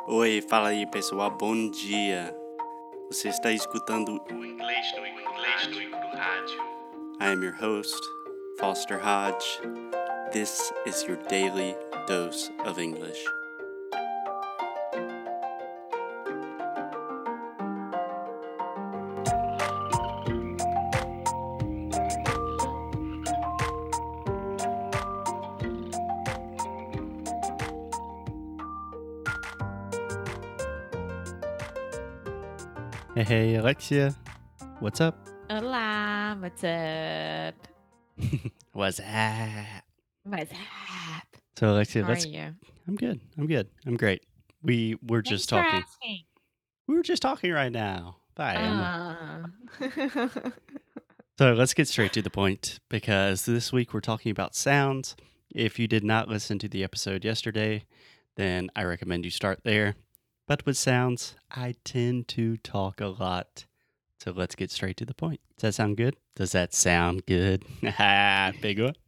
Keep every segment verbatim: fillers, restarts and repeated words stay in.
Oi, fala aí pessoal, bom dia. Você está escutando o Inglês do Inglês do Rádio. I am your host, Foster Hodge. This is your daily dose of English. Hey, hey, Alexia. What's up? Olá, what's up? What's up? What's up? So, Alexia, How are let's. you? I'm good. I'm good. I'm great. We were just Thanks for talking. asking. We were just talking right now. Bye, Emma. Ah. So let's get straight to the point because this week we're talking about sounds. If you did not listen to the episode yesterday, then I recommend you start there. But with sounds, I tend to talk a lot. So let's get straight to the point. Does that sound good? Does that sound good? Big one.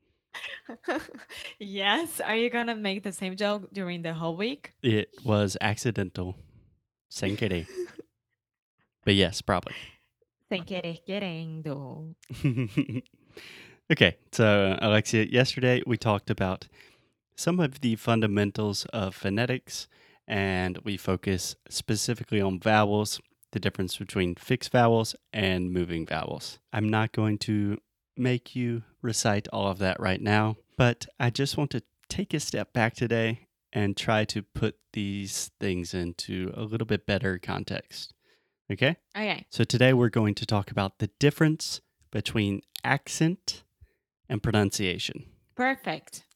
Yes, are you gonna make the same joke during the whole week? It was accidental. Sem querer. But yes, probably. Sem querer querendo. Okay, so Alexia, yesterday we talked about some of the fundamentals of phonetics, and we focus specifically on vowels, the difference between fixed vowels and moving vowels. I'm not going to make you recite all of that right now, but I just want to take a step back today and try to put these things into a little bit better context. Okay? Okay. So today we're going to talk about the difference between accent and pronunciation. Perfect.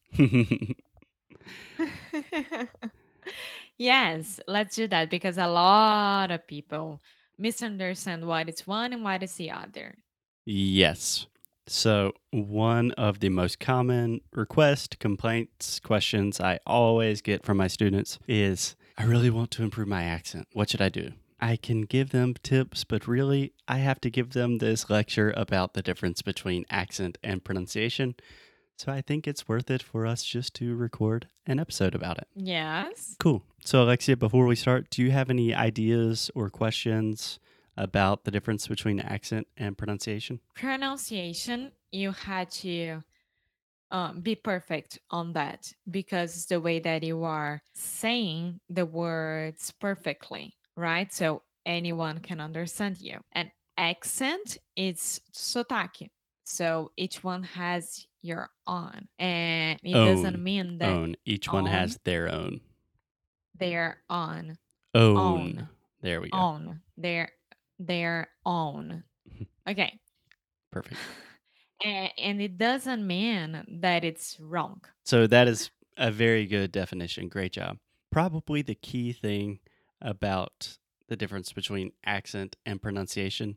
Yes, let's do that because a lot of people misunderstand what is one and what is the other. Yes. So, one of the most common requests, complaints, questions I always get from my students is I really want to improve my accent. What should I do? I can give them tips, but really, I have to give them this lecture about the difference between accent and pronunciation. So, I think it's worth it for us just to record an episode about it. Yes. Cool. So, Alexia, before we start, do you have any ideas or questions about the difference between accent and pronunciation? Pronunciation, you had to um, be perfect on that because it's the way that you are saying the words perfectly, right? So anyone can understand you. And accent is sotaque. So each one has your own. And it doesn't Own. mean that Own. Each one on, has their own. they're on, Own. own, There we go. own, their, their own. Okay. Perfect. A- And it doesn't mean that it's wrong. So that is a very good definition. Great job. Probably the key thing about the difference between accent and pronunciation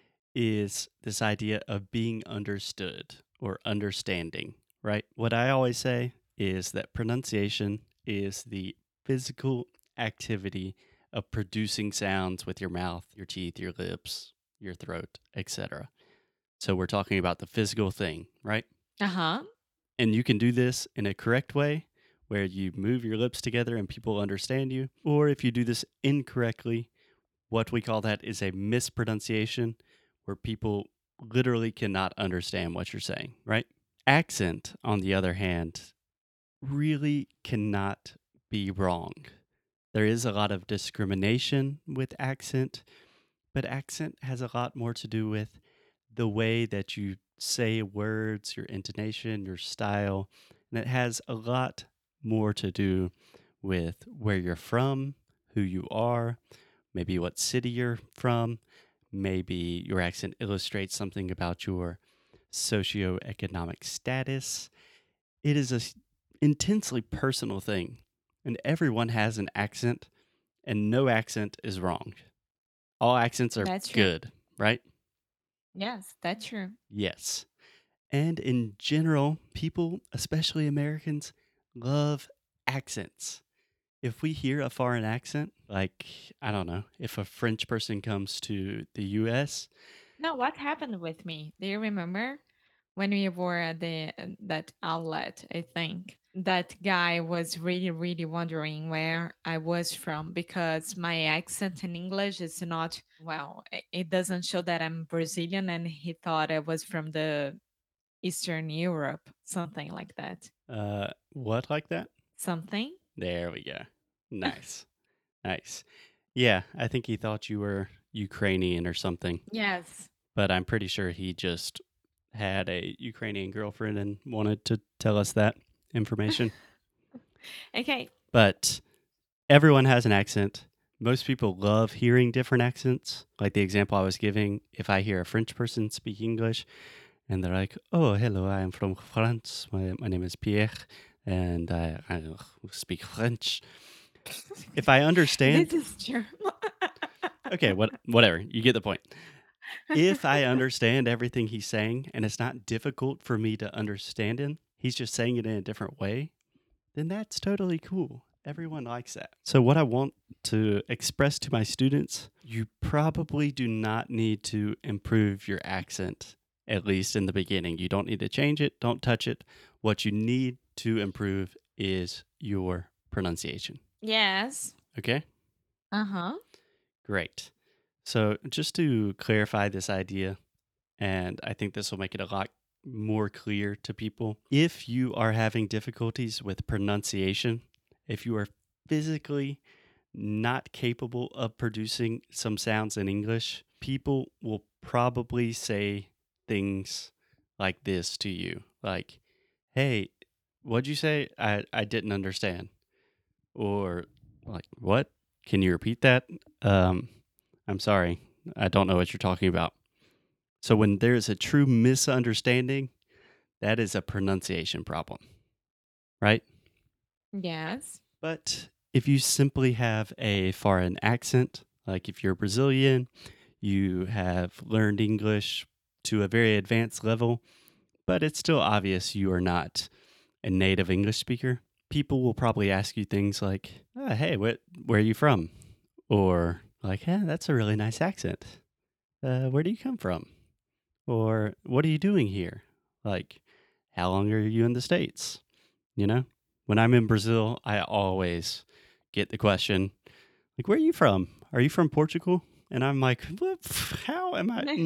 is this idea of being understood or understanding, right? What I always say is that pronunciation is the physical activity of producing sounds with your mouth, your teeth, your lips, your throat, et cetera. So we're talking about the physical thing, right? Uh huh. And you can do this in a correct way where you move your lips together and people understand you. Or if you do this incorrectly, what we call that is a mispronunciation where people literally cannot understand what you're saying, right? Accent, on the other hand, really cannot be wrong. There is a lot of discrimination with accent, but accent has a lot more to do with the way that you say words, your intonation, your style, and it has a lot more to do with where you're from, who you are, maybe what city you're from, maybe your accent illustrates something about your socioeconomic status. It is an intensely personal thing, and everyone has an accent, and no accent is wrong. All accents are That's true. good, right? Yes, that's true. Yes. And in general, people, especially Americans, love accents. If we hear a foreign accent, like, I don't know, if a French person comes to the U S, No, what happened with me? Do you remember when we were at the that outlet? I think. that guy was really, really wondering where I was from because my accent in English is not, well, i- it doesn't show that I'm Brazilian, and he thought I was from the Eastern Europe, something like that. Uh, what like that? Something? There we go. Nice. Nice. Yeah, I think he thought you were Ukrainian or something, Yes. but I'm pretty sure he just had a Ukrainian girlfriend and wanted to tell us that information. Okay. But everyone has an accent. Most people love hearing different accents. Like the example I was giving, if I hear a French person speak English and they're like, "Oh, hello, I am from France. My, my name is Pierre and I, I speak French." If I This understand, is true. okay, what whatever, you get the point. If I understand everything he's saying and it's not difficult for me to understand him, he's just saying it in a different way, then that's totally cool. Everyone likes that. So, what I want to express to my students, you probably do not need to improve your accent, at least in the beginning. You don't need to change it, don't touch it. What you need to improve is your pronunciation. Yes. Okay? Uh-huh. Great. So, just to clarify this idea, and I think this will make it a lot more clear to people. If you are having difficulties with pronunciation, if you are physically not capable of producing some sounds in English, people will probably say things like this to you, like, "Hey, what'd you say? I, I didn't understand." Or like, "What? Can you repeat that?" Um, I'm sorry. I don't know what you're talking about. So when there's a true misunderstanding, that is a pronunciation problem, right? Yes. But if you simply have a foreign accent, like if you're Brazilian, you have learned English to a very advanced level, but it's still obvious you are not a native English speaker, people will probably ask you things like, oh, "Hey, what, where are you from?" Or like, "Yeah, that's a really nice accent. Uh, where do you come from?" Or "What are you doing here?" Like, "How long are you in the States?" You know? When I'm in Brazil, I always get the question, like, "Where are you from? Are you from Portugal?" And I'm like, "What? How am I?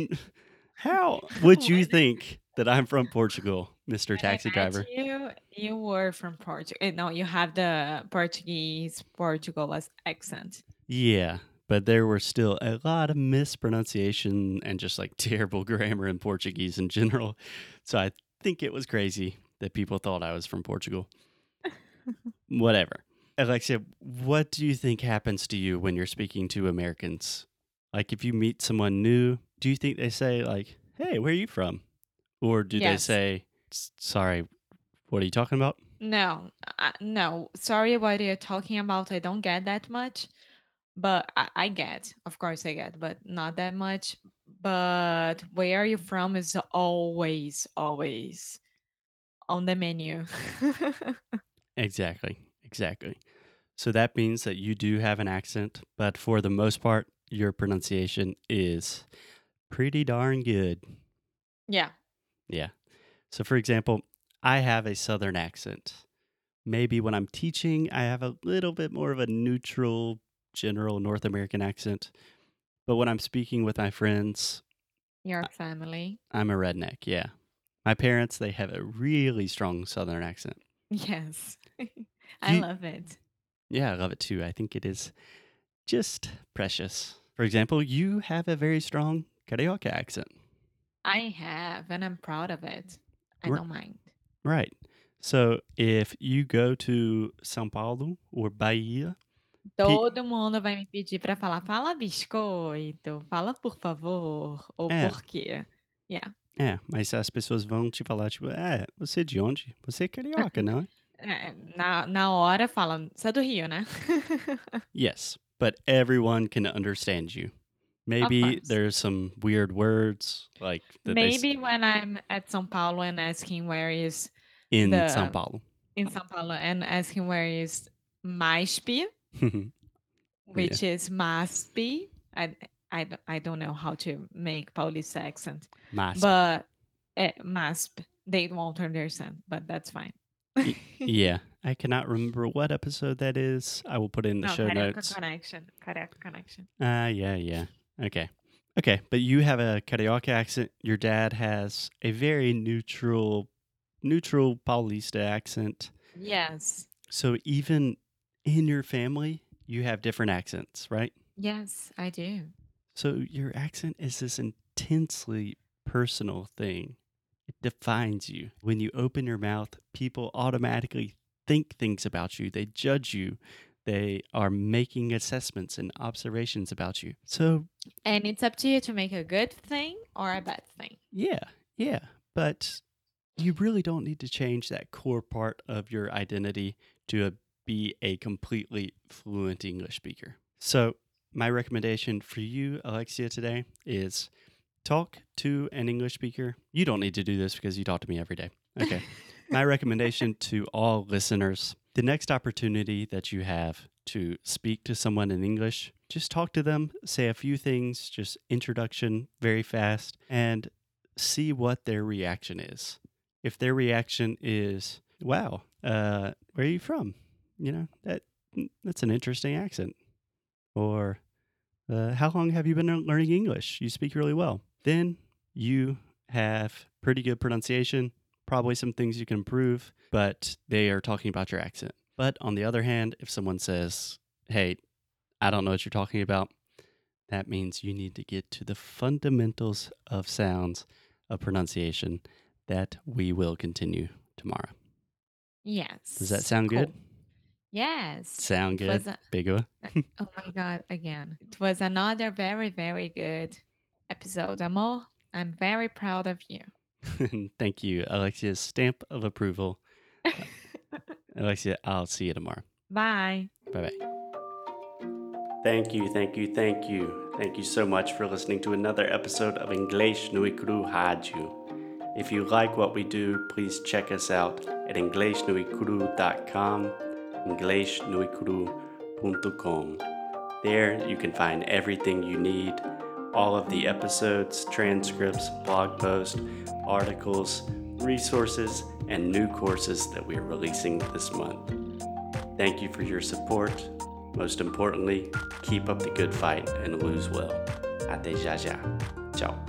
How would you when think that I'm from Portugal, mister when I Taxi met Driver?" you, you were from Portugal. No, you have the Portuguese Portugal as accent. Yeah, but there were still a lot of mispronunciation and just like terrible grammar in Portuguese in general. So I think it was crazy that people thought I was from Portugal. Whatever. Alexia, what do you think happens to you when you're speaking to Americans? Like if you meet someone new, do you think they say like, "Hey, where are you from?" Or do they Yes. say, "S- Sorry, what are you talking about?" No, uh, no. Sorry, what you're talking about. I don't get that much, but I, I get. Of course, I get, but not that much. But where are you from is always, always on the menu. Exactly. Exactly. So that means that you do have an accent, but for the most part, your pronunciation is pretty darn good. Yeah. Yeah. So, for example, I have a southern accent. Maybe when I'm teaching, I have a little bit more of a neutral, general North American accent. But when I'm speaking with my friends, Your I- family. I'm a redneck. Yeah. My parents, they have a really strong southern accent. Yes. I You, love it. yeah, I love it too. I think it is just precious. For example, you have a very strong Carioca accent. I have, and I'm proud of it. I R- don't mind. right. So if you go to São Paulo or Bahia, pe- Todo mundo vai me pedir para falar: "Fala biscoito, fala por favor", ou é, por quê. Yeah. é, mas as pessoas vão te falar, tipo, é, você é de onde? Você é carioca, não é? É, na na hora fala: "Você é do Rio, né?" Yes, but everyone can understand you. Of Maybe course. there's some weird words like that they s- Maybe when I'm at São Paulo and asking where is in São the Paulo. in São Paulo and asking where is MASP, Yeah, which is MASP. I I d I don't know how to make Paulista accent, MASP. but, eh, MASP, they won't understand, but that's fine. Y- yeah, I cannot remember what episode that is. I will put it in the No, show Carioca notes. Connection. Carioca Connection. Ah, uh, yeah, yeah. Okay. Okay, but you have a Carioca accent. Your dad has a very neutral, neutral Paulista accent. Yes. So even in your family, you have different accents, right? Yes, I do. So your accent is this intensely personal thing. It defines you. When you open your mouth, people automatically think things about you. They judge you. They are making assessments and observations about you. So, And it's up to you to make a good thing or a bad thing. yeah, yeah. But you really don't need to change that core part of your identity to a, be a completely fluent English speaker. So, my recommendation for you, Alexia, today is talk to an English speaker. You don't need to do this because you talk to me every day. Okay. My recommendation to all listeners, the next opportunity that you have to speak to someone in English, just talk to them, say a few things, just introduction very fast, and see what their reaction is. If their reaction is, wow, uh, where are you from? You know, that that's an interesting accent. Or, uh, how long have you been learning English? You speak really well. Then you have pretty good pronunciation, probably some things you can improve, but they are talking about your accent. But on the other hand, if someone says, hey, I don't know what you're talking about, that means you need to get to the fundamentals of sounds, of pronunciation, that we will continue tomorrow. Yes. Does that sound Cool. good? Yes. Sound It good? was a- Bigua? oh my God, again. It was another very, very good episode, Amor. I'm very proud of you. Thank you, Alexia's stamp of approval. Alexia, I'll see you tomorrow. Bye. Bye bye. Thank you, thank you, thank you. Thank you so much for listening to another episode of Inglês no Icru Rádio. If you like what we do, please check us out at inglês no icru dot com, inglês no icru dot com. There you can find everything you need, all of the episodes, transcripts, blog posts, articles, resources, and new courses that we are releasing this month. Thank you for your support. Most importantly, keep up the good fight and lose well. Até já já. Ciao.